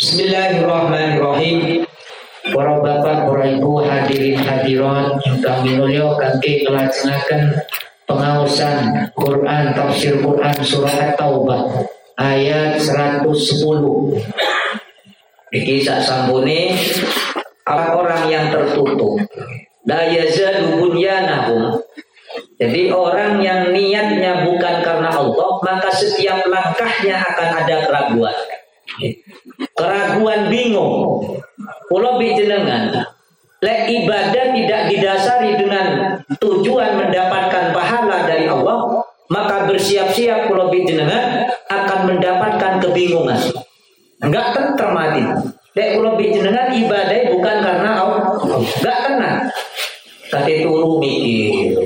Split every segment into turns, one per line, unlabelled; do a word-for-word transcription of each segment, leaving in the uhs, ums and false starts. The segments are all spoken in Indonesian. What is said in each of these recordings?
Bismillahirrahmanirrahim. Para bapak, para ibu, hadirin hadirat ingkang minulya kangge nglajengaken pengaosan Quran tafsir Quran surah At-Taubah ayat seratus sepuluh. Iki sak sampune orang yang tertutup. La yazalu bunyanahum. Jadi orang yang niatnya bukan karena Allah, maka setiap langkahnya akan ada keraguan. Keraguan bingung. Kula bijenengan, lek ibadah tidak didasari dengan tujuan mendapatkan pahala dari Allah, maka bersiap-siap kula bijenengan akan mendapatkan kebingungan. Enggak tentrem hati. Lek kula bijenengan ibadah bukan karena Allah, enggak tenang. Kate turu mikir.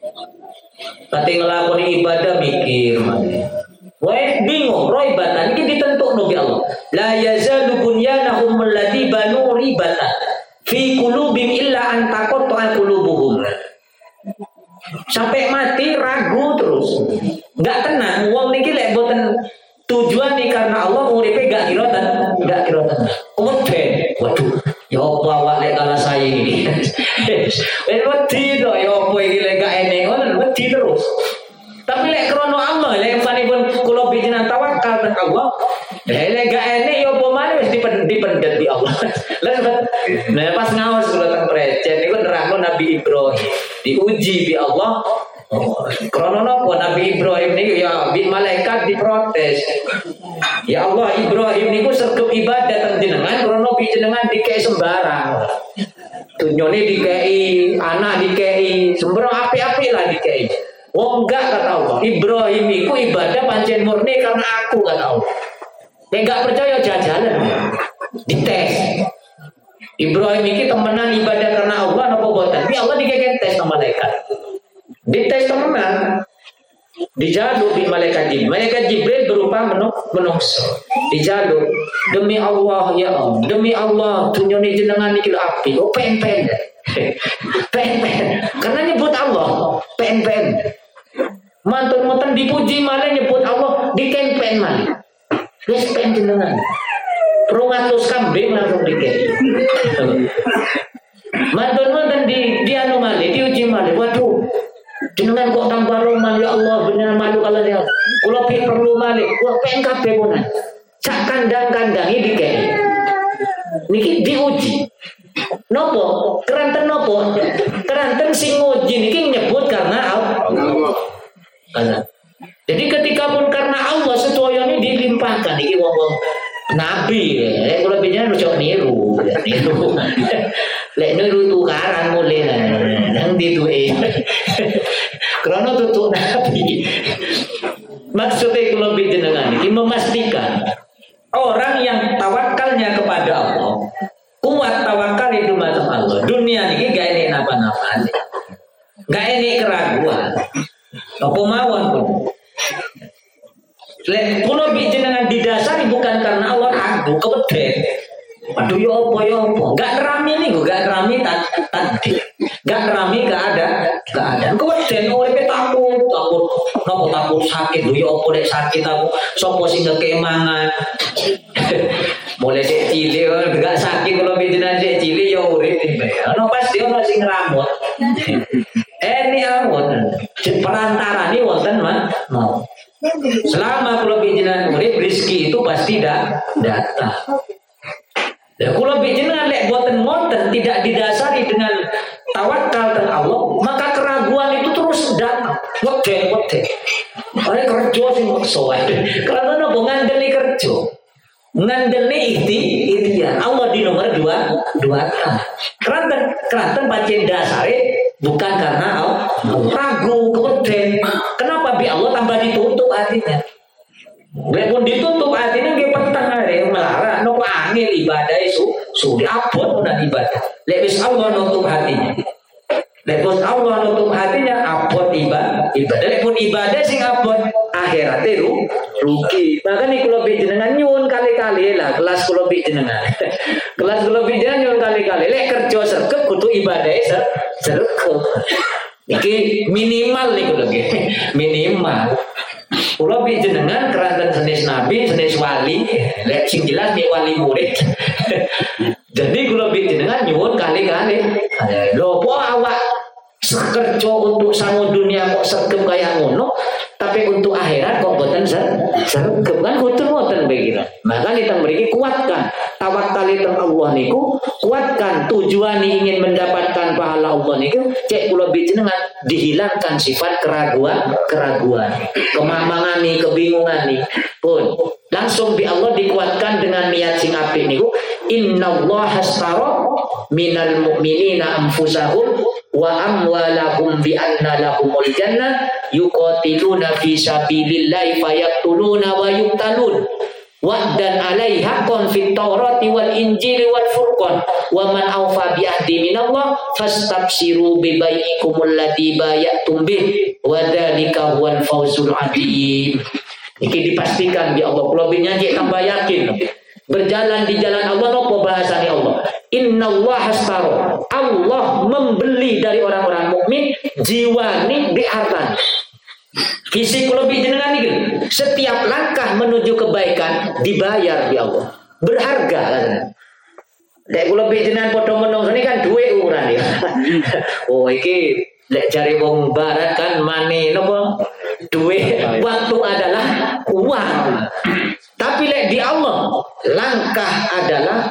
Kate nglakoni ibadah mikir. Wae bingung, roy batan iki ditentukno bi Allah. La yazalu bunyanahum alladzi banu ribatan fi qulubihim illa an taqatta'a qulubuhum. Sampai mati ragu terus. Enggak tenang, wong niki lek boten tujuan nih karena Allah uripe gak kira ten, gak kira ten. Kemudian, waduh, ya apa awak lek kalah saya iki. Wis wedi to, ya apa iki lek gak enek ngono, wedi terus. Tapi lek krono Allah, lek panipun kula bijinan tawakal nang Allah, lek gak enek yo apa maneh wis dipendet di Allah. Lah pas ngaos kula teng prejen niku nerangno Nabi Ibrahim diuji di Allah. Krono napa Nabi Ibrahim niku ya bi malaikat diprotes. Ya Allah, Ibrahim niku sergep ibadah teng jenengan krono bi jenengan dikei sembarang. Dunyane dikei, anak dikei, sembarang apik-apik lah dikei. Oh enggak kata Allah, Ibrahim itu ibadah pancen murni karena aku kata Allah. Yang enggak percaya jajalan, dites. Ibrahim ini temenan ibadah karena Allah apa boten? Tapi Allah dikeken tes sama malaikat. Dites temenan, dijaluk di malaikat Jibril. Malaikat Jibril berupa menungso. Dijaluk demi Allah ya Allah, demi Allah dunyane jenengan iki api. Oh pen-pen. Pen-pen. Karena nyebut Allah, pen-pen. Mantun-mantun dipuji malah nyebut Allah dikempen malah. Wis pen jenengan. rong atus kambing langsung dikei. Mantun-mantun di di anu malah diuji malah. Waduh. Jenengan kok tambah roman ya Allah bener malu kalau dia. Kula perlu malah. Wah pen kabeh punan. Sak kandang-kandangi dikei. Niki diuji. Nopo? Keranten nopo? Keranten sing nguji niki nyebut karena Allah. Allah. Jadi ketika pun karena Allah sedaya ini dilimpahkan iki wong-wong nabi ya. Kalau bicara ojo niru, niru. Lek niru tukaran mulai nang dituke. Karena tutuk nabi. Maksudnya kalau bicara ini memastikan orang yang tawakalnya kepada Allah, kuat tawakal itu macam Allah. Dunia ini gak enek napa-napa, gak enek keraguan. Apa mawon pun. Lek kulo jenengan didasari bukan karena Allah ragu keweden. Aduh ya apa ya apa. Gak nerami nih, gak nerami tadi. Gak nerami gak ada, gak ada. Keweden uripe takut, takut. Napa takut sakit lho ya apa lek sakit aku sapa sing kekemangan. Mulai sik cilik gak sakit kalau jenengan sik cilik ya urip iki. Ono pasti ono sing ngramut. Eh ini awon perantara ini wonten mah mau. Selama kalau jenengan urip rezeki itu pasti dah datang. Dan kalau jenengan lek boten ngoten tidak didasari dengan tawakal dan Allah, maka keraguan itu terus datang. Wedhe wedhe. Oleh kerja sing maksa wae. Karena nopo ngandeli kerja. Ngandeli ikhti ikhtiar. Allah di nomor dua dua ta. Keranten keranten pancen dasare bukan karena Allah. Ragu keweden. Kenapa bi Allah tambah ditutup hatinya? Lek pun ditutup hatinya nggih peteng ae melara nopo angel ibadah isu sudah abot udah ibadah. Lek wis Allah nutup hatinya. Lek pun Allah nutup hatinya abot ibadah. Ibadah lek pun ibadah sing abot akhirate ru rugi. Makane kula jenengan nyuwun kali-kali lah kelas kula jenengan. Kelas kula jenengan nyuwun kali-kali lek kerja sregep kudu ibadahe sregep. Iki minimal niku lho nggih. Minimal. Kula bi jenengan keranten senis nabi, senis wali, lek sing jelas nek wali murid. Jadi kula bi jenengan nyuwun kali-kali. Lho po awak kerja untuk sangu dunia kok sergep kayak ngono, tapi untuk akhirat kok boten sergep kan kudu ngoten begitu. Maka kita mriki kuatkan tawakal teng Allah niku, kuatkan tujuan ingin mendapatkan pahala Allah niku, cek kula jenengan dihilangkan sifat keraguan, keraguan, kemamangan nih, kebingungan nih. Pun langsung di Allah dikuatkan dengan niat sing apik niku, innallaha astara minal mu'minina anfusahum wa amwalahum bi anna lahumul jannah yuqatiluna fi sabilillahi fayaqtuluna wa yuqtalun wa'dan 'alaihi haqqan fit tawrati wal injili wal furqan wa man awfa bi ahdi minallah fastabsiru bi bai'ikumul ladzi bay'atum bih wa dzalika huwal fawzul 'adzim. Iki dipastikan di Allah. Kula nyanyi tambah yakin berjalan di jalan Allah. Nopo bahasane Allah, innallaha astara, Allah membeli dari orang-orang mukmin jiwani bi harta. Kisi kula jenengan iki setiap langkah menuju kebaikan dibayar di Allah, berharga kan. Lek kula jenengan padha menungso ini kan duwe ukuran ya. Oh iki lek jare wong barat kan mane napa duwe, waktu adalah uang. Tapi lek di Allah langkah adalah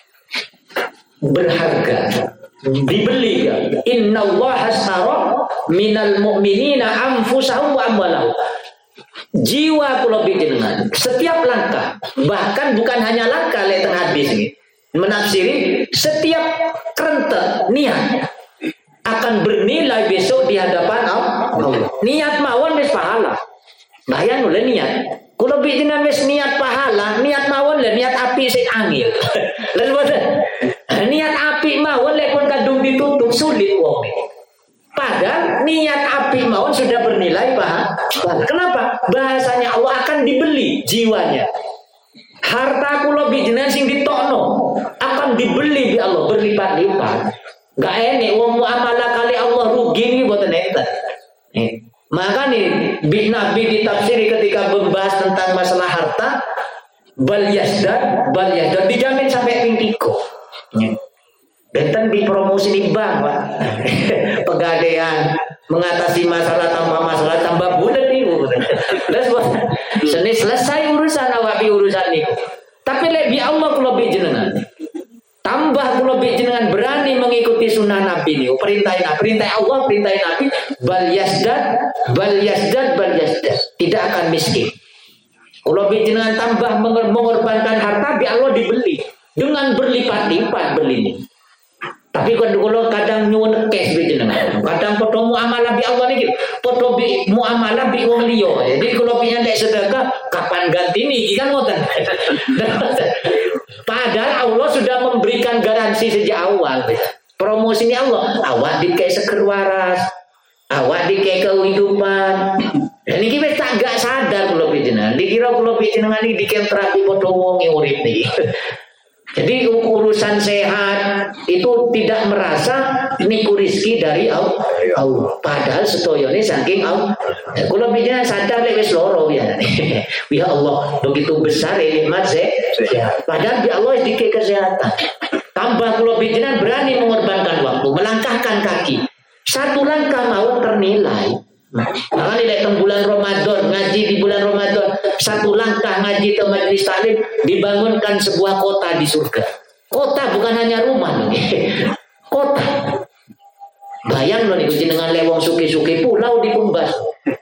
berharga, dibeli ya. Innallaha astara minal mu'minina anfusahum wa amwalahum. Jiwa kula jenengan setiap langkah, bahkan bukan hanya langkah lek teng hadis ini menafsiri, setiap kerentek niat akan bernilai besok di hadapan Allah. Niat mawon wis pahala. Bayang oleh niat. Kula jenengan wis niat pahala, niat mawon le niat api sing angel. Lan boten. Niat api mawon lek pun kadung ditutup sulit wong. Padahal niat api mawon sudah bernilai pahala. Kenapa? Bahasanya Allah akan dibeli jiwanya. Harta kula jenengan sing ditokno akan dibeli di Allah berlipat-lipat. Gak enek wong muamalah kali Allah rugi nih boten enten. Eh. Maka nih Nabi ditafsiri ketika membahas tentang masalah harta, bal yasdad, bal yasdad dijamin sampai ping tiga. Benten dipromosi di bank, Pak. Pegadaian mengatasi masalah tanpa masalah tambah bulat nih. Seni selesai urusan awak urusan niku. Tapi lebih Allah kula jenengan. Tambah kula jenengan berani mengikuti sunnah Nabi niku, perintah perintah Allah, perintah Nabi, bal yasdad, bal yasdad, bal yasdad. Tidak akan miskin. Kula jenengan tambah mengorbankan harta bi Allah dibeli dengan berlipat-lipat belinya. Tapi kalau kadang nyuwun cash bi jenengan, kadang padha muamalah bi Allah niki, padha bi muamalah bi wong liya. Jadi kalau piye nek sedekah kapan ganti niki kan ngoten. Padahal Allah sudah memberikan garansi sejak awal. Promosinya Allah, awak dikei seger waras, awak dikei kehidupan. Dan ini kita tak gak sadar kalau jenengan. Dikira kalau jenengan ini dikei terapi padha wong urip niki. Jadi urusan sehat itu tidak merasa niku rezeki dari Allah. Padahal setoyone saking Allah. Kalau bicara sadar lek wis loro ya. Ya Allah, begitu besar nikmat sehat. Padahal di Allah dikei kesehatan. Tambah kalau bicara berani mengorbankan waktu, melangkahkan kaki. Satu langkah mau ternilai. Maka di datang bulan Ramadan, ngaji di bulan Ramadan, satu langkah ngaji ke majelis taklim, dibangunkan sebuah kota di surga. Kota bukan hanya rumah, kota. Bayang loh nih, dengan lewong suki-suki pulau di Pumbas.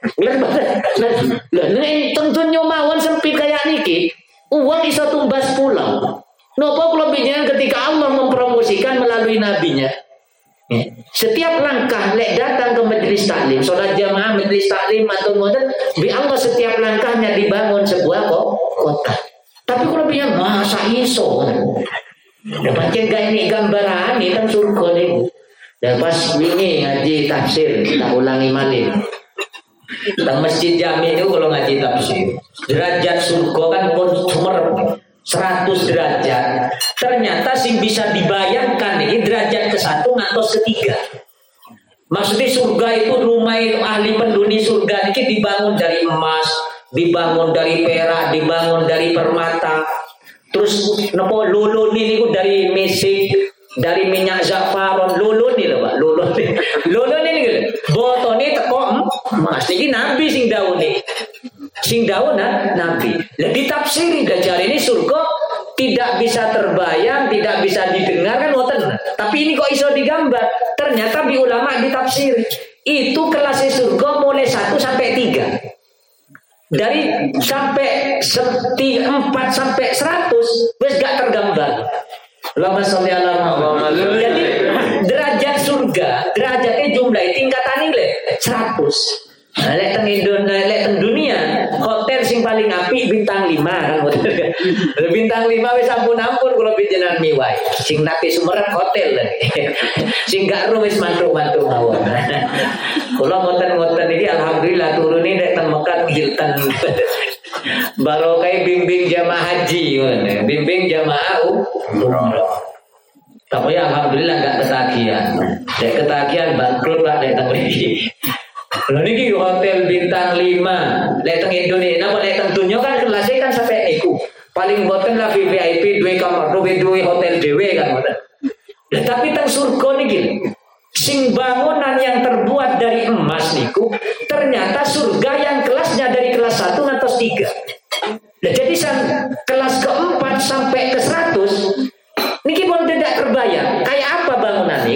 Lah, nih tentunya mawon sempit kayak niki, uang iso tumbas pulau. Nopo kalau bicara ketika Allah mempromosikan melalui nabinya. Setiap langkah lek datang ke majelis taklim, sholat jamaah majelis taklim atau ngoten, bi Allah setiap langkahnya dibangun sebuah kota. Tapi kalau bilang masa iso, dapat gak ini gambaran ini kan surga nih. Dan pas ini ngaji tafsir kita ulangi malih. Di masjid jami itu kalau ngaji tafsir, derajat surga kan pun sumer seratus derajat. Ternyata sing bisa dibayangkan ini derajat ke satu ngantos ketiga. Maksudnya surga itu rumah ahli penduni surga ini dibangun dari emas, dibangun dari perak, dibangun dari permata. Terus nopo lulun ini ku dari mesik, dari minyak zafaron. Lulun ini loh Pak, lulun ini. Lulun ini gitu. Botone teko emas. Iki nabi sing dawuh nih. Sing dawuh nah, nabi. Lah ditafsiri dajar ini surga tidak bisa terbayang, tidak bisa didengar kan ngoten. Tapi ini kok iso digambar? Ternyata bi ulama ditafsiri. Itu kelasnya surga mulai satu sampai tiga. Dari sampai seti, empat sampai seratus wes gak tergambar. Allahumma sholli ala Muhammad. Jadi derajat surga, derajatnya jumlah tingkatan ini seratus. Nah, lek teng Indonesia, lek teng dunia, hotel sing paling apik bintang lima kan hotel. Bintang lima wis ampun-ampun kula pinjenan miwai. Sing napi Sumerep hotel. Sing gak ro wis mantuk-mantuk mawon. Kula ngoten-ngoten iki alhamdulillah turune nek teng Mekah Hilton. Barokah bimbing jamaah haji, bimbing jamaah umroh. Tapi alhamdulillah gak ketagihan. Nek ketagihan bangkrut Pak nek teng mriki. Kalau ini hotel bintang lima, leteng Indonesia, apa leteng dunia kan kelasnya kan sampai niku. Paling boten lah V V I P dua kamar, dua dua hotel dewe kan boten. Nah, tapi teng surga niki, sing bangunan yang terbuat dari emas niku, ternyata surga yang kelasnya dari kelas satu ngantos tiga. Nah, jadi kelas keempat sampai ke seratus, niki pun tidak terbayang. Kayak apa bangunan ini?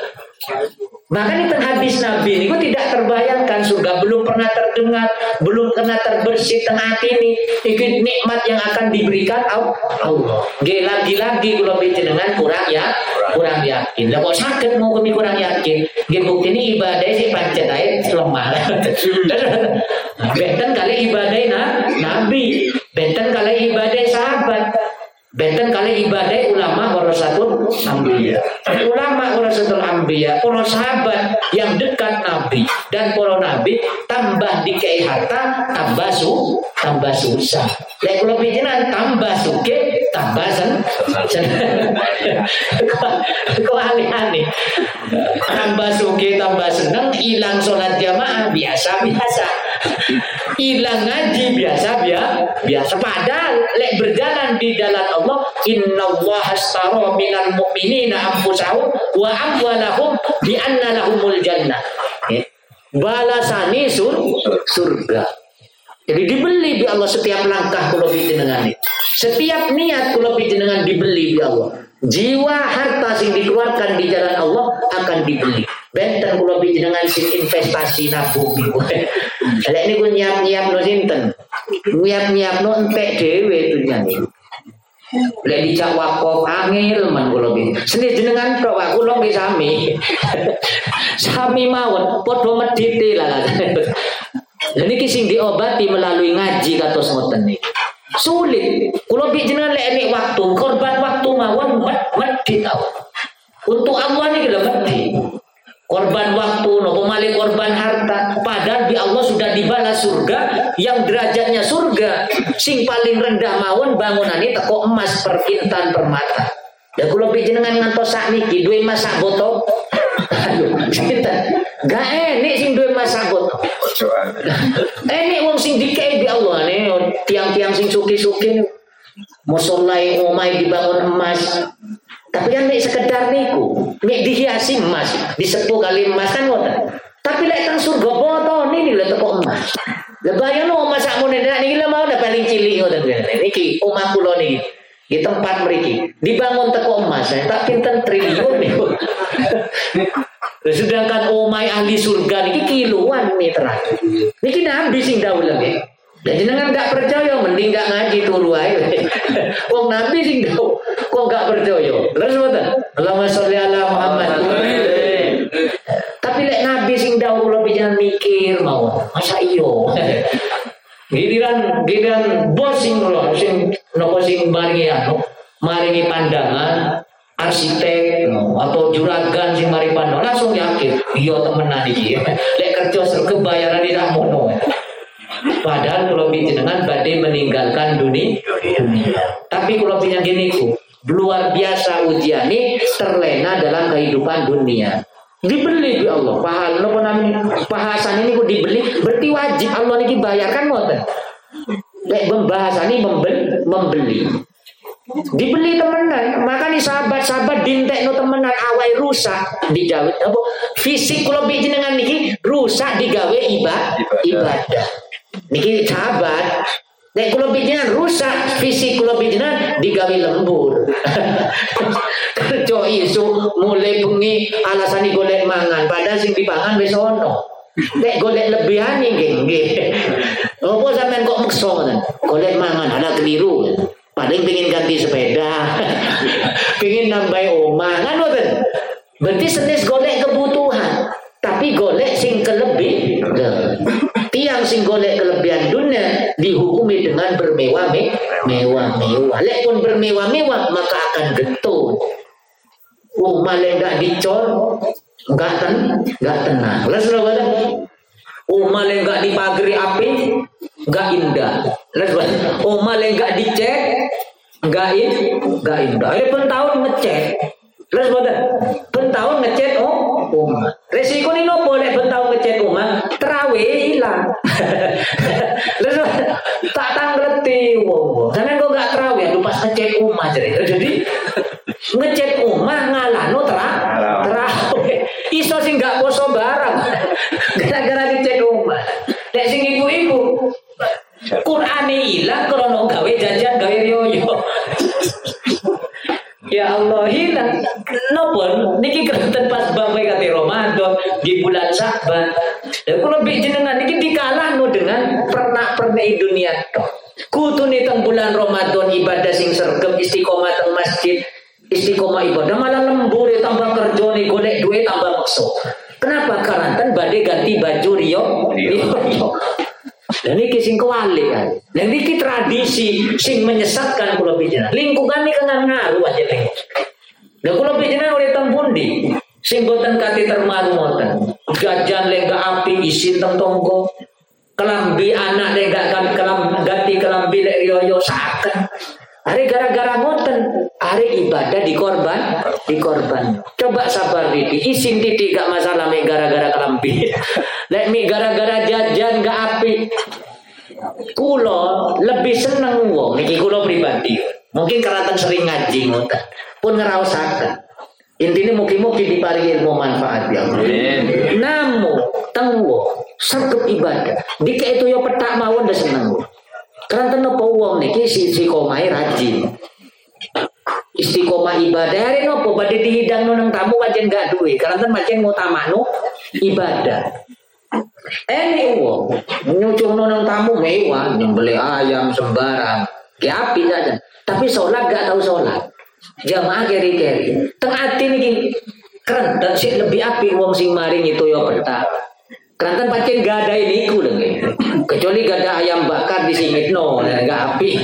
Makanya teng hadis Nabi ini tidak terbayangkan surga, belum pernah terdengar, belum pernah terbersih teng hati ini. Ini nikmat yang akan diberikan Allah. Lagi-lagi kalau dengan kurang ya, kurang yakin. Lah kok sakit mau kami kurang yakin? Nggih bukti ini ibadah si pancet ae lemah. Benten kali ibadah nah, Nabi, benten kali ibadah sahabat. Benten kali ibadah ulama warasatul anbiya. Ulama warasatul anbiya, para sahabat yang dekat Nabi dan para nabi tambah dikei harta, tambah su, tambah susah. Lek kula pikiran tambah suke, tambah sen. Kok aneh-aneh. Tambah suke, tambah seneng, hilang sholat jamaah biasa-biasa. Hilang ngaji biasa biasa. Padahal lek berjalan di jalan Allah, innallaha astara minal mu'minina anfusahum wa amwalahum bi anna lahumul jannah. Balasane sur, surga. Jadi dibeli bi Allah setiap langkah kula panjenengan. Setiap niat kula panjenengan dibeli bi Allah. Jiwa harta sing dikeluarkan di jalan Allah akan dibeli. Benten kula panjenengan sing investasi nabung. Lek niku nyiap-nyiapno sinten? Nyiap-nyiapno entek dhewe dunyane. Lek dicak wakaf angel men kula bin. Seni jenengan tok wae kula nggih sami. Sami mawon padha medhite lah. Lah niki sing diobati melalui ngaji kados ngoten niki. Sulit. Kula bin jenengan lek nek waktu korban waktu mawon medhit tau. Untuk Allah niki lho medhit. Korban waktu, nopo malih korban harta. Padahal di Allah sudah dibalas surga yang derajatnya surga. Sing paling rendah mawon bangunan ini teko emas per intan permata. Ya kula panjenengan ngantos sakniki duwe emas sak botol. Aduh, sinten? Gak enek sing duwe emas sak botol. Enek wong sing dikei di Allah nih, tiang-tiang sing suki-suki. Musolai omai dibangun emas. Tapi kan nek sekedar niku, nek dihiasi emas, disepuh kali emas kan ngoten. Tapi lek teng surga botone ini lho teko emas. Lah bayangno emas sakmene niki lho mau nek paling cilik ngoten niki omah kula niki. Di tempat mriki dibangun teko emas, tak pinten triliun niku. Sedangkan omai ahli surga niki kiloan meteran. Niki nabi sing dawuh lagi. Dan jenengan enggak percaya mending enggak ngaji turu ae. Wong nabi sing dawuh kok enggak percaya. Terus mboten. Allahumma sholli ala Muhammad. Tapi lek nabi sing dawuh kula pisan mikir mawon. Masa iyo. Giliran giliran bos sing kula sing napa sing maringi anu, maringi pandangan arsitek no, atau juragan sing mari pandangan langsung yakin iya temenan iki. Lek kerja surga bayaran ira mono. Padahal kalau jenengan badai meninggalkan dunia, dunia. Tapi kalau punya gini ku, luar biasa ujian ini terlena dalam kehidupan dunia. Dibeli di Allah. Pahal, nopo namanya pahasan ini ku dibeli, berarti wajib Allah ini bayarkan ngoten. Lek pembahasan ini membeli, membeli. Dibeli temenan, makanya sahabat-sahabat dintekno temenan awai rusak digawe apa fisik kula jenengan niki rusak digawe ibadah ibadah niki sahabat nek kula jenengan rusak fisik kula jenengan digawe lembur kerja isu mulai bengi alasane golek mangan padahal sing dipangan wis ono nek golek lebihan nggih nggih opo sampean kok meksa ngoten golek mangan ada keliru paling pengen ganti sepeda, pengen nambah omah, kan betul? Berarti senis golek kebutuhan, tapi golek sing kelebih. Tiang sing golek kelebihan dunia dihukumi dengan bermewah mewah mewah. Lek pun bermewah-mewah maka akan getun. Omah lek enggak dicor, enggak ten, enggak tenang. Terus lho omah lek enggak dipagari api, enggak indah. Omah lek enggak dicek, enggak enggak indah. Ada pentahun ngecek. Terus boten. Pentahun ngecek oh, omah. Resiko ni nopo lek pentahun ngecek omah, terawih hilang. Terus tak tangleti wong. Sampeyan kok enggak terawih, aduh pas ngecek omah jadi. Jadi ngecek omah ngalano terawih. Iso sing enggak poso barang. Gara-gara ngecek omah. Lek sing ibu-ibu Qur'ane ilang krono gawe jajan gawe yoyo. Ya Allah hilang. Napa niki krenten pas bapak kate Ramadan di bulan Sa'ban. Lah kula mbek jenengan niki dikalahno dengan pernak-pernik dunia tok. Kutune teng bulan Ramadan ibadah sing sregep istiqomah teng masjid, istiqomah ibadah malah lembur tambah kerjane golek duit tambah maksa. Kenapa? Karena kan badhe ganti baju riyo. riyo. Dan ini sing kewalik kan. Dan ini tradisi sing menyesatkan kula pijenan. Lingkungan ini kena ngaruh aja nih. Dan kula pijenan oleh tempundi sing boten kate termaru ngoten. Jajan lenggak api isin teng tonggo. Kelambi anak lenggak kelam ganti kelambi lek riyo saken. Hari gara-gara ngoten, hari ibadah dikorban, dikorban. Coba sabar Didi, isin titik gak masalah mek gara-gara kelambi. Lek mek gara-gara jajan gak api. Kulo lebih seneng wong niki kulo pribadi. Mungkin karena sering ngaji ngoten. Pun ngraosaken. Intine mugi-mugi diparingi ilmu manfaat ya. Amin. Namun teng wong sregep ibadah. Dike itu yo petak mawon ndak seneng. Karena napa wong niki istiqomah rajin. Istiqomah ibadah hari nopo badhe dihidangno nang tamu pancen gak duwe. Karena pancen ngutamakno ibadah. Ene wong nyucungno nang tamu mewah, nyembelih ayam sembarang. Ki api saja. Tapi sholat gak tahu sholat. Jamaah keri-keri. Teng ati niki keren dan sik lebih api wong sing maring itu yo petak. Keranten pancen gak ada niku lho nggih. Kecuali gak ada ayam bakar di singitno, gak api.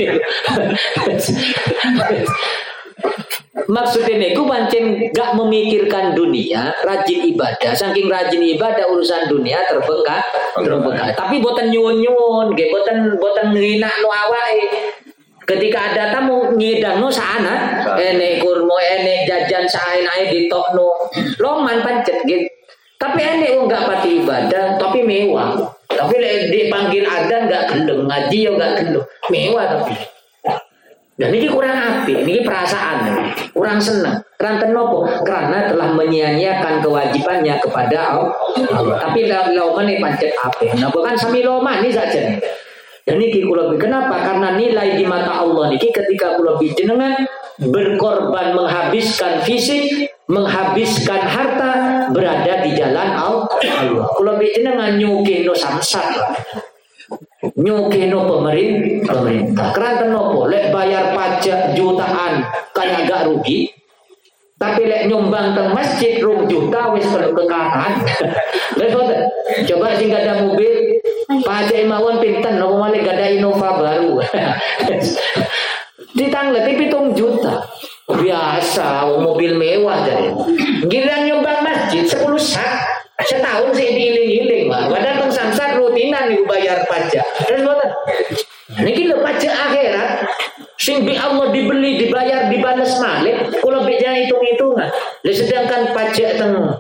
Maksudnya niku pancen gak memikirkan dunia, rajin ibadah. Saking rajin ibadah urusan dunia terbengkak, terbengkak. Tapi boten nyuwun-nyuwun, nggih boten boten nginakno awake. Ketika ada tamu ngidangno saana, enek kurma, enek jajan saenae ditokno. Loman pancet gitu. Tapi enek wong gak pati ibadah, tapi mewah. Tapi dipanggil adzan gak gelem, ngaji ya gak gelem. Mewah tapi. Dan ini kurang api, ini perasaan, kurang senang. Karena nopo? Karena telah menyia-nyiakan kewajibannya kepada Allah. Tapi lauman ini pancet api. Nah bukan sami lauman ini saja. Dan ini kula kenapa? Karena nilai di mata Allah niki ketika kula jenengan berkorban menghabiskan fisik, menghabiskan harta berada di jalan Allah. Kula jenengan nyukino samsat. Nyukino pemerintah, pemerintah. Karena nopo lek bayar pajak jutaan kayak gak rugi. Tapi lek nyumbang teng masjid rong juta wis perlu kekahan. Coba sing gak ada mobil pajak mawon pinten nopo malih gak ada Innova baru. Ditanglet pitung juta. Biasa mobil mewah jadi. Giliran nyumbang masjid sepuluh sak. Setahun sih diiling-iling, padahal teng samsat rutinan ibu bayar pajak. Terus boten. Niki lho pajak akhirat sing bi Allah dibeli, dibayar, dibales malih, kula bejana hitung-hitungan. Lah sedangkan pajak teng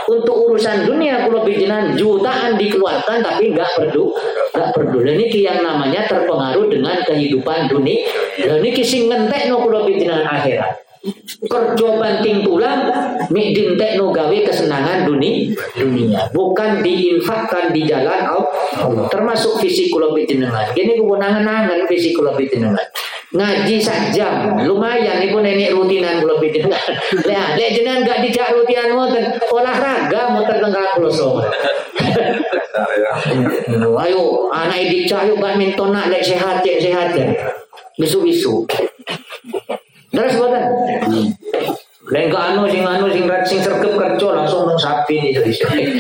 untuk urusan dunia kula pijenan jutaan dikeluarkan tapi enggak perlu, enggak perlu. Dan ini yang namanya terpengaruh dengan kehidupan dunia. Dan ini sing ngentekno kula pijenan akhirat. Kerja banting tulang mik dintekno gawe kesenangan dunia, dunia bukan diinfakkan di jalan Allah. Termasuk fisik kula pijenengan. Kene ku nangan-nangan fisik kula pijenengan. Ngaji sak jam lumayan niku nenek rutinan kula pijenengan. Lah lek jenengan gak dijak rutinan ngoten olahraga muter tengah kloso. Ayo anak dicak yo badminton nak lek sehat cek sehat ya. Bisu-bisu. Terus boten. Lain ke anu sing anu sing sing sergep kerja langsung nang sapi ni jadi.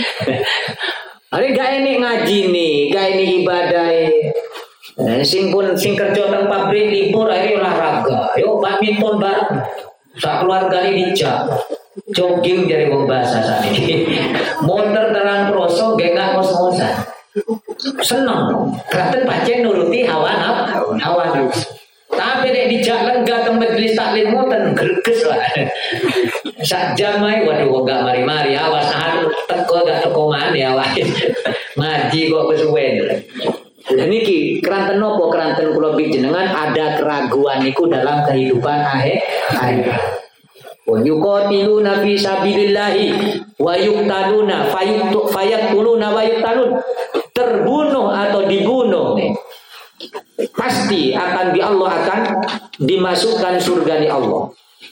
Ari gak ini ngaji nih, gak ini ibadah. Eh, sing pun sing kerja nang pabrik libur akhirnya olahraga. Yo badminton bareng. Sak keluarga ini dijak. Jogging dari wong bahasa sakniki. Motor terang proso gak gak ngos-ngosan. Seneng. Kraten pancen nuruti hawa nafsu. Hawa nafsu. Tapi nek dijak lenggah ke majelis taklim ngoten greges lah. Sak jam ae waduh enggak mari-mari awas anu teko gak teko maneh awas. Ngaji kok kesuwen. Niki keranten nopo keranten kula panjenengan ada keraguan niku dalam kehidupan akhir akhir. Wa yuqatiluna fi sabilillahi wa yuqtaluna fayaqtuluna wa yuqtalun. Terbunuh atau dibunuh nih. Pasti akan di Allah akan dimasukkan surga di Allah.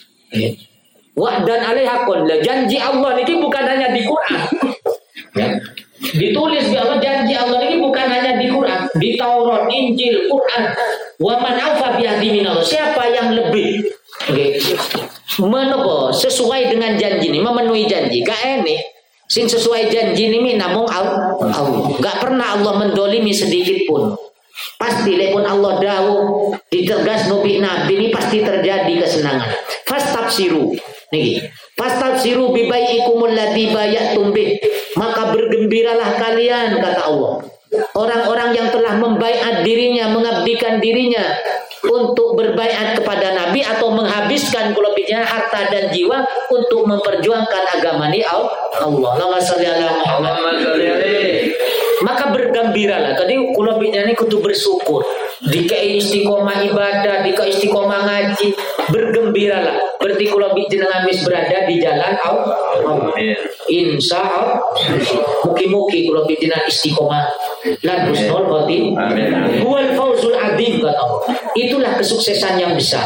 Wa'dan alaihakun. Janji Allah ini bukan hanya di Quran. Ya. Ditulis di Allah janji Allah ini bukan hanya di Quran, di Taurat, Injil, Quran. Wa man aufa bi ahdi minallah. Siapa yang lebih okay. Menopo sesuai dengan janji ini, memenuhi janji. Gak ini sing sesuai janji ini namung Allah. Gak pernah Allah mendolimi sedikit pun. Pasti lepun Allah dawuh ditegas nabi nabi ini pasti terjadi kesenangan. Fastabsiru niki. Fastabsiru bi bai'ikumul ladzi bayatum bih. Maka bergembiralah kalian kata Allah. Orang-orang yang telah membaiat dirinya, mengabdikan dirinya untuk berbaiat kepada Nabi atau menghabiskan kulubnya harta dan jiwa untuk memperjuangkan agama ini Allah. Allahumma shalli ala Muhammad. Maka bergembiralah. Tadi kulubnya ini kudu bersyukur. Dikei istiqomah ibadah, dikei istiqomah ngaji, bergembiralah. Berarti kulubnya jenengan wis berada di jalan Allah. Insya Allah. Mugi-mugi kulubnya jenengan istiqomah. Lan husnul khotimah. Huwal fawzul adzim kata Allah. Itulah kesuksesan yang besar.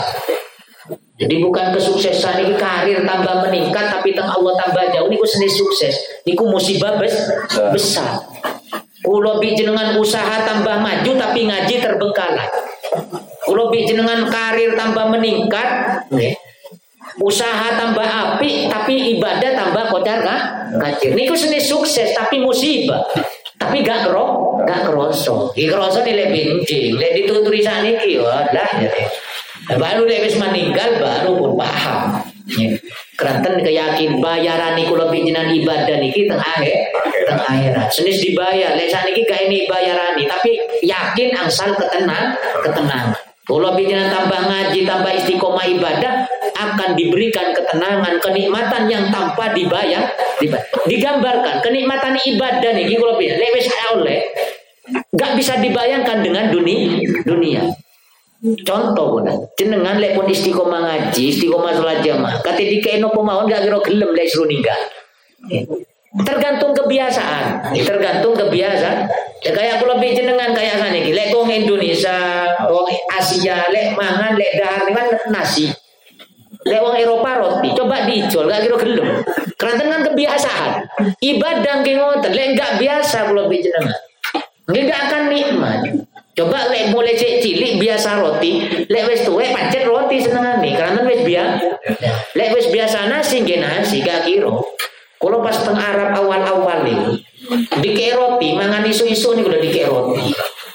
Jadi bukan kesuksesan ini karir tambah meningkat tapi teng Allah tambah jauh niku seni sukses. Niku musibah bes, besar. Kulo bi jenengan usaha tambah maju tapi ngaji terbengkalai. Kulo bi jenengan karir tambah meningkat, nih. Usaha tambah apik tapi ibadah tambah kocar kah? Kacir. Niku seni sukses tapi musibah. Tapi gak kero, gak keroso. Iki keroso nih lebih penting. Lek dituturi saniki wadah jadi. Baru lek wis meninggal baru pun paham. Keranten keyakin bayaran niku lebih jenengan ibadah niki teng akhir teng akhirat. Senis dibayar. Lek saniki gak ini bayarani tapi yakin angsal ketenang, ketenangan. Kalau bijinan tambah ngaji, tambah istiqomah ibadah akan diberikan ketenangan, kenikmatan yang tanpa dibayar, dibayar. Digambarkan kenikmatan ibadah nih, kalau bijinan lewes oleh, gak bisa dibayangkan dengan dunia. dunia. Contoh pun, jenengan lek pun istiqomah ngaji, istiqomah sholat jamaah, kata dikaino pemawon gak kira gelem lek suruh ninggal. Tergantung kebiasaan, tergantung kebiasaan. Ya kayak kalau jenengan kayak sana iki, lek wong Indonesia, wong Asia, lek mangan, lek dahar kan nasi. Lek wong Eropa roti, coba dijual gak kira gelem. Karena kan kebiasaan. Ibadah nggih ngoten, lek gak biasa kalau jenengan. Nggih gak akan nikmat. Coba lek mulai cilik biasa roti, lek wis tuwek pancet roti senengane, karena wis biasa. Lek wis biasa nasi nggih nasi gak kira. Kalau pas teng Arab awal-awal nih, dikei roti, mangan isu-isu nih udah dikei roti.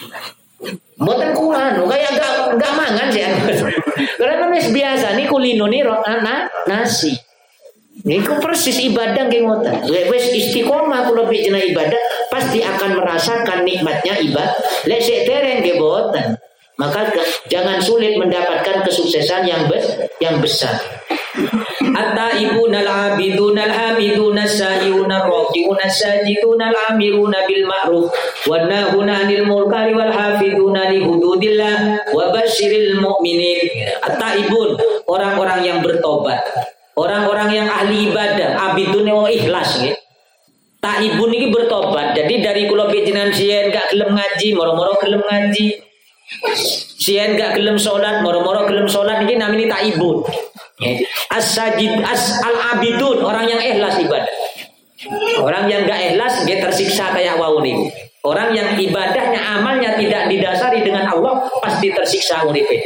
Mboten kulan, kayak gak gak mangan sih. Karena wis biasa nih kulino nih na, nasi. Niku persis ibadah nggih ngoten. Lek wis istiqomah kula bijena ibadah, pasti akan merasakan nikmatnya ibadah. Lek sik dereng nggih boten. Maka jangan sulit mendapatkan kesuksesan yang bes, yang besar. At-taibuna al-abiduna al-hamiduna as-sa'ihuna ar-raki'una as-sajiduna al-amiruna bil ma'ruf wan nahuna 'anil munkari wal hafizuna li hududillah wa basyiril mu'minin. At-taibun, orang-orang yang bertobat, orang-orang yang ahli ibadah, abidun yang ikhlas nggih. Taibun ini bertobat. Jadi dari kula jenengan sien gak gelem ngaji, moro-moro gelem ngaji. Sien gak gelem salat, moro-moro gelem salat, iki namanya taibun. As-sajid as al-abidun, orang yang ikhlas ibadah. Orang yang gak ikhlas dia tersiksa kayak wau niku. Orang yang ibadahnya, amalnya tidak didasari dengan Allah pasti tersiksa uripe.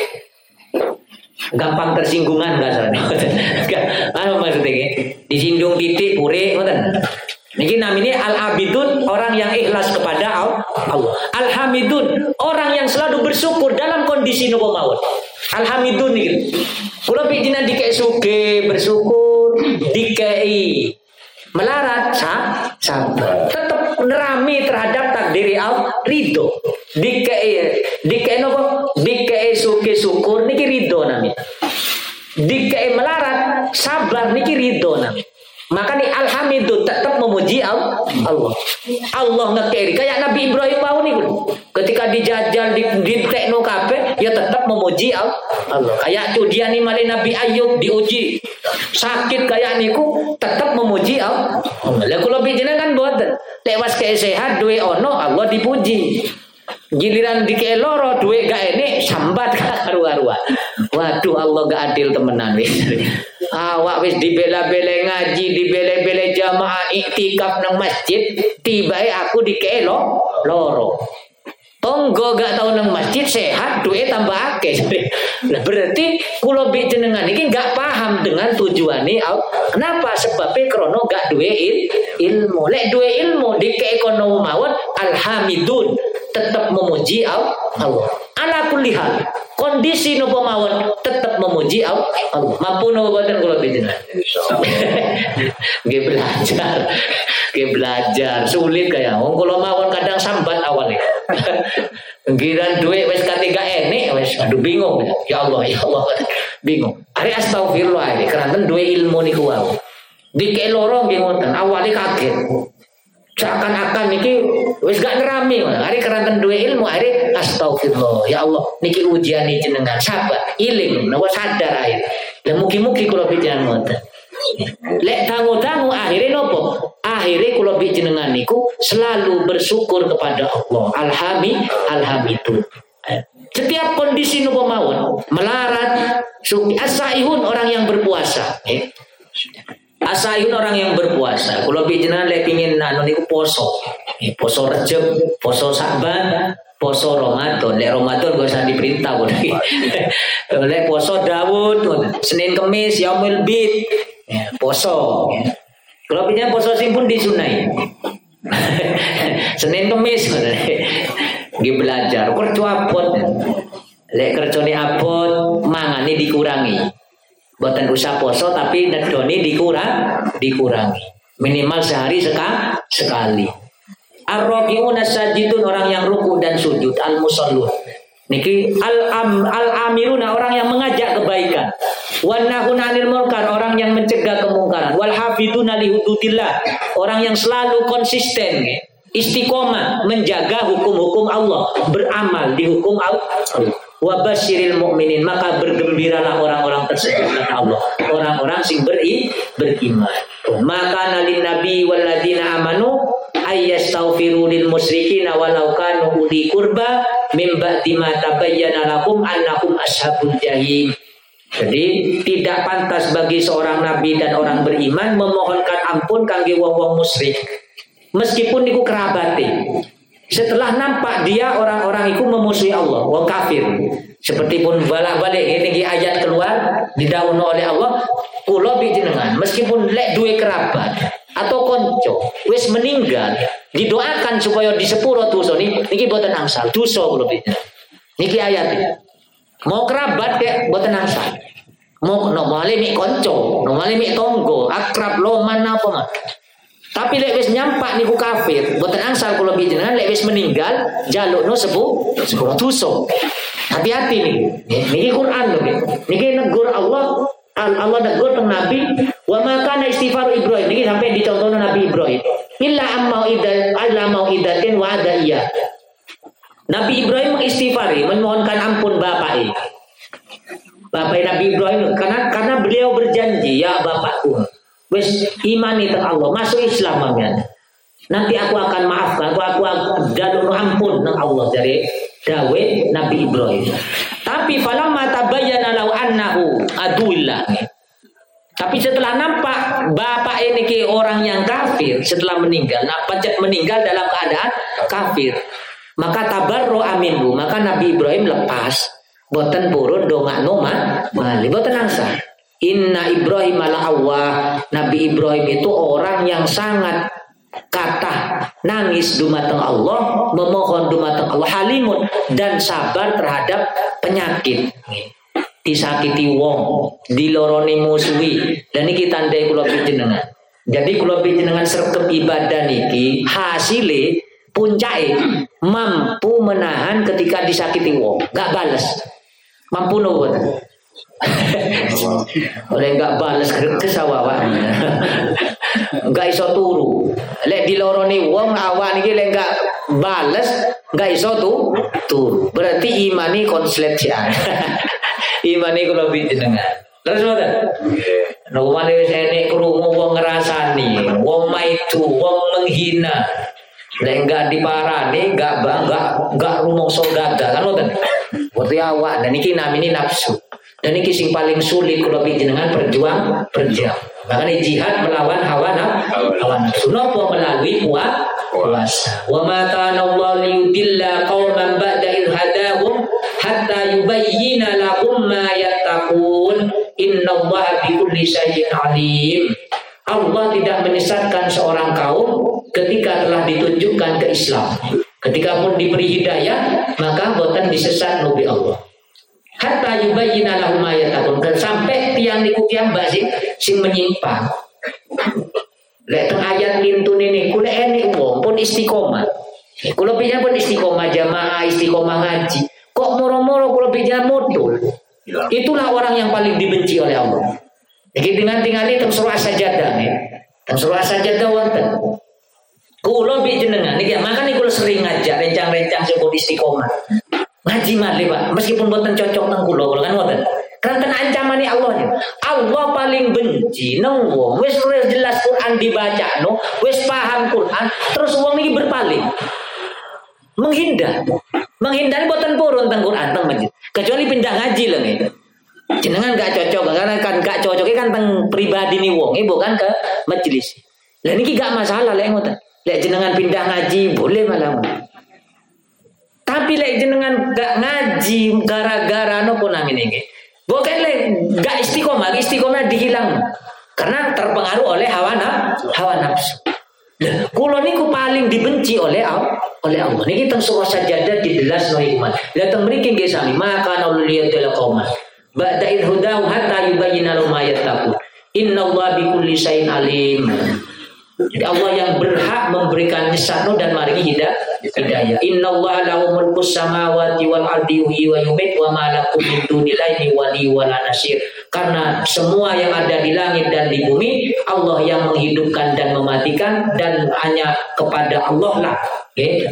Gampang tersinggungan kasarnya. Apa maksudnya? Disinggung titik pure ngoten. Niki namanya al-abidun, orang yang ikhlas kepada Allah. Al-hamidun, orang yang selalu bersyukur dalam kondisi nopo mawon. Al-hamidun niki. Kula pijinan dikek suge bersyukur, dikei melarat sabar. Tetap nerami terhadap takdiri Allah, ridho. Dikei dikei nopo? Dikei suge syukur niki ridho namanya. Dikei melarat sabar niki ridho namanya. Maka nih alhamdulillah tetap memuji Allah. Allah ngekeri kayak Nabi Ibrahim mau nih, ketika dijajal di, di tekno kafe, ya tetap memuji Allah. Kayak tuh dia nih malah Nabi Ayub diuji sakit kayak niku tetap memuji Allah. Lah kalau bijine kan boten tewas kayak sehat duwe ono Allah dipuji. Giliran dikei loro duwe gak enek sambat karu-karuan. Waduh Allah gak adil temenan wis. Awak wis dibela-bela ngaji, dibela-bela jamaah iktikaf nang masjid, tibae aku dikei lo loro. Tonggo gak tau nang masjid sehat duwe tambah akeh. Nah, berarti kula bi jenengan iki gak paham dengan tujuane Allah. Kenapa? Sebabnya krono gak duwe il, ilmu. Lek duwe ilmu dikei kono mawon alhamidun, tetap memuji Allah. Ala kulli hal, kondisi nopo mawon tetap memuji Allah. Mampu nopo boten kula jenengan. Nggih belajar. Nggih belajar, sulit kaya. Wong kula mawon kadang sambat awalnya. Giran duit wis katiga enek wis aduh bingung. Ya Allah, ya Allah. Bingung. Ari astagfirullah iki keranten duwe ilmu niku wae. Dikek loro nggih ngoten, awale kaget. Seakan-akan niki wis gak nerami, hari keranten duwe ilmu, hari astagfirullah, ya Allah, niki ujian jenengan, sabar, iling, nawa sadar ae. Lah mugi-mugi kula pikiran ngoten. Lek dangu-dangu akhire nopo? Akhire kula jenengan niku selalu bersyukur kepada Allah. Alhamid, alhamdulillah. Setiap kondisi nopo mawon, melarat, suki, asaihun orang yang berpuasa, eh. Asaihun orang yang berpuasa. Kalau bijinan le pingin anu niku poso. Eh, poso Rejab, poso Sa'ban, poso Ramadan. Lek Ramadan gak usah diperintah kok. Lek poso Daud, Senin Kemis, Yaumul Bid. Ya, poso. Kalau bijinan poso sing pun disunai. Senin Kemis nggih belajar kerja abot. Lek kerjane abot, mangane dikurangi. Buatan usah poso tapi nedoni dikurang dikurangi minimal sehari seka, sekali. Ar-raki'un as-sajidun, orang yang ruku dan sujud. Al-musallun niki al-am al-amiruna, orang yang mengajak kebaikan. Wan nahuna 'anil munkar, orang yang mencegah kemungkaran. Wal hafiduna li hududillah, orang yang selalu konsisten istiqomah menjaga hukum-hukum Allah, beramal di hukum Allah. Wa basyiril mu'minin, maka bergembiralah orang-orang tersebut kata Allah, orang-orang sing beri beriman. Maka nalin nabi walladzina amanu ayyastaghfiru lil musyrikin walau kanu uli qurba mim ba'di ma tabayyana lahum annahum ashabul jahim. Jadi tidak pantas bagi seorang nabi dan orang beriman memohonkan ampun kangge wong-wong musyrik meskipun niku kerabate. Setelah nampak dia orang-orang itu memusuhi Allah, wong kafir. Seperti pun balik-balik ini ayat keluar didhawuhna oleh Allah, kula jenengan meskipun lek duwe kerabat atau konco wis meninggal, didoakan supaya disepuro dosa niki niki boten angsal dosa kula jenengan. Niki ayat. Mau kerabat kek boten angsal. Mau nomale mik konco, nomale mik tonggo, akrab loman apa mah. Tapi lek wis nyampak niku kafir, boten angsal kula jenengan lek wis meninggal jalukno sepuh sepuro dosa. Hati-hati nih. Niki Quran lho niki. Niki negur Allah Allah negur teng Nabi wa ma kana istighfar Ibrahim ini sampai dicontohna Nabi Ibrahim illa amma idat alla mau'idatin wa adaiya. Nabi Ibrahim mengistighfari memohonkan ampun bapaknya. Bapak Nabi Ibrahim karena karena beliau berjanji ya bapakku wis imani teng Allah masuk Islam mamian. Nanti aku akan maafkan aku aku jalur ampun teng Allah dari dawe Nabi Ibrahim. Tapi falamma tabayyana law annahu aduillah. Tapi setelah nampak bapak ini ke orang yang kafir setelah meninggal, nampak meninggal dalam keadaan kafir, maka tabarro amindu, maka Nabi Ibrahim lepas, boten purun dongakno mali, boten angsa. Inna Ibrahim ala Allah, Nabi Ibrahim itu orang yang sangat kata nangis dumateng Allah, memohon dumateng Allah, halimun dan sabar terhadap penyakit. Disakiti wong, diloroni musuhi, dan iki tandai kula panjenengan. Jadi kula panjenengan sregep ibadah niki hasile puncake mampu menahan ketika disakiti wong, enggak bales. Mampu nopo? Oleh enggak bales kesawawan. Enggak iso turu. Lek diloroni wong awak niki lek enggak bales, enggak iso tu turu. Berarti imani konslet sian. Imani kula panjenengan. Terus mboten? Nggih. Nek wong wis enek krungu wong ngrasani, wong maidu, wong menghina. Lek enggak diparani, enggak enggak enggak rumangsa gagal kan mboten? Berarti awak dan iki namine nafsu. Dan iki sing paling sulit kula panjenengan berjuang berjuang. Makanya jihad melawan hawa nafsu. Napa melalui puasa. Wa ma kana Allah liyudilla qauman ba'da idh hadahum hatta yubayyina lahum ma yattaqun. Innallaha bikulli syai'in alim. Allah tidak menyesatkan seorang kaum ketika telah ditunjukkan ke Islam. Ketika pun diberi hidayah, maka boten disesat nabi Allah. Hatta yubayyina lahum ma yattaqun. Sampai tiang niku tiang sing sing menyimpang. Lek teng ayat lintun ini kula enek wong pun istiqomah. Kula piye pun istiqomah jamaah, istiqomah ngaji. Kok moro-moro kula piye modul. Itulah orang yang paling dibenci oleh Allah. Iki dengan tingali teng surah Sajadah nih. Teng surah Sajadah wonten. Kula piye jenengan niki makane kula sering ngajak rencang-rencang sing istiqomah. Ngaji malih Pak, meskipun boten cocok nang kula, kula kan ngoten. Karena ancamane Allah. Allah paling benci nang wong wis jelas Quran dibaca no, wis paham Quran, terus wong iki berpaling. Menghindar. Menghindar boten purun teng Quran teng masjid. Kecuali pindah ngaji lho gitu. Jenengan gak cocok karena kan gak cocoknya kan teng pribadi ni wong, bukan ke majelis. Lah niki gak masalah lek ngoten. Lek jenengan pindah ngaji boleh malah. Tapi lek jenengan gak ngaji gara-gara nopo namine iki. Bukan lek gak istiqomah, istiqomah dihilang. Karena terpengaruh oleh hawa nafsu, hawa nafsu. Lah kula niku paling dibenci oleh oleh Allah. Niki teng surah Sajadah dijelasno iman. Lah teng mriki nggih sami maka nuliyadul qauman. Ba'da idh hudahu hatta yubayyana lahum ma yattaqun. Innallaha bikulli syai'in alim. Jadi Allah yang berhak memberikan nisano dan maringi hidayah. Innallaha lahu mulkus samawati wal ardi yuhyi wa yumiit wa ma lakum min dunillahi wali wala nasir. Karena semua yang ada di langit dan di bumi Allah yang menghidupkan dan mematikan dan hanya kepada Allah lah. Okay.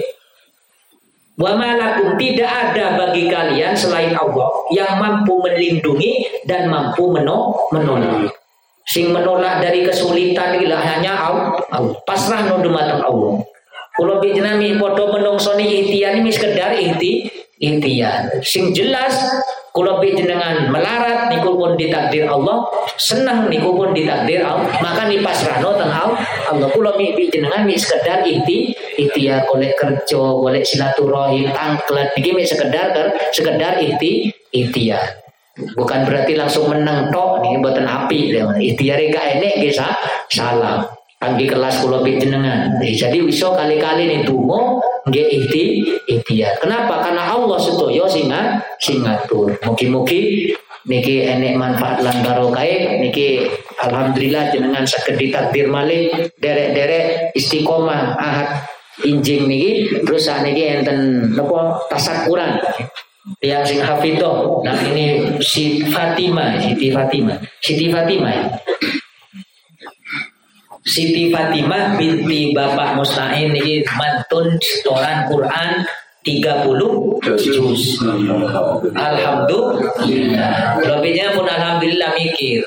Wa ma lakum tidak ada bagi kalian selain Allah yang mampu melindungi dan mampu menolong. Sing menolak dari kesulitan ila hanya Allah. Pasrah no dumateng Allah. Kula panjenengan padha menungsoni ikhtiar ini sekedar ikhti ikhtiar. Sing jelas kula panjenengan melarat niku pun ditakdir Allah, senang niku pun ditakdir Allah. Maka ni pasrahno teng Allah. Kula panjenengan mi sekedar ikhti ikhtiar golek kerja, golek silaturahim, angklet iki mi sekedar sekedar ikhti ikhtiar. Bukan berarti langsung menang tok nih mboten api lho. Ikhtiare gak enek nggih salah. Kangge kelas kula panjenengan. Jadi iso kali-kali nih donga nggih ikhti ikhtiar. Kenapa? Karena Allah sedaya sing sing ngatur. Mugi-mugi niki enek manfaat lan barokah niki alhamdulillah jenengan saged ditakdir malih derek-derek istiqomah ahad injing niki terus sakniki enten napa tasakuran. yang sing hafidho. Nah ini si Fatimah, Siti Fatimah, Siti Fatimah ya. Siti Fatimah binti Bapak Mustain ini mantun setoran Quran tiga puluh juz. Alhamdulillah. Lebihnya pun alhamdulillah mikir.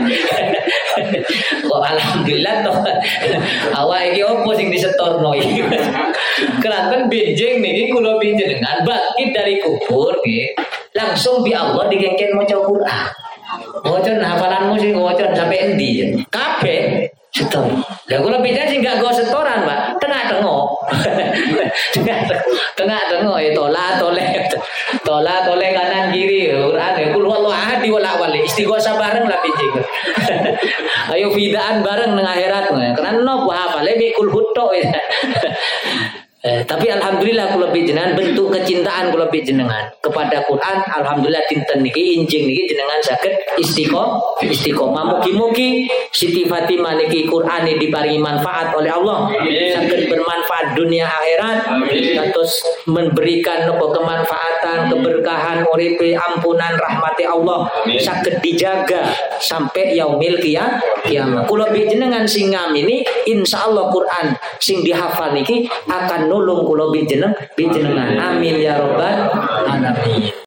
Kok alhamdulillah toh. Awak iki opo sing disetorno iki. Kelantan benjing niki kula pinjenengan bangkit dari kubur nggih. Langsung bi Allah digengken maca Quran. Maca hafalanmu sing maca sampai endi? Kabeh setor. Lah kula pindah sing gak go setoran, Pak. Tengah-tengah. Tengah-tengah ya tola toleh. Tola toleh kanan kiri. Quran ya kul wallahu ahad wala wali. Istighosah bareng lah pinjing. Ayo fidaan bareng nang akhirat. Karena nopo hafale bi kul hutto ya. Eh, tapi alhamdulillah kula jenengan bentuk kecintaan kula jenengan kepada Quran. Alhamdulillah dinten niki injing niki jenengan saged istiqomah istiqomah mugi-mugi Siti Fatimah niki Quran diparingi manfaat oleh Allah, saged bermanfaat dunia akhirat, terus memberikan nopo kemanfaatan keberkahan uripe ampunan rahmati Allah saged dijaga sampai yaumil kiamat. Kula jenengan sing ngamini insyaallah Quran sing dihafal niki akan nulung kula jenengan. Amin ya rabbal alamin.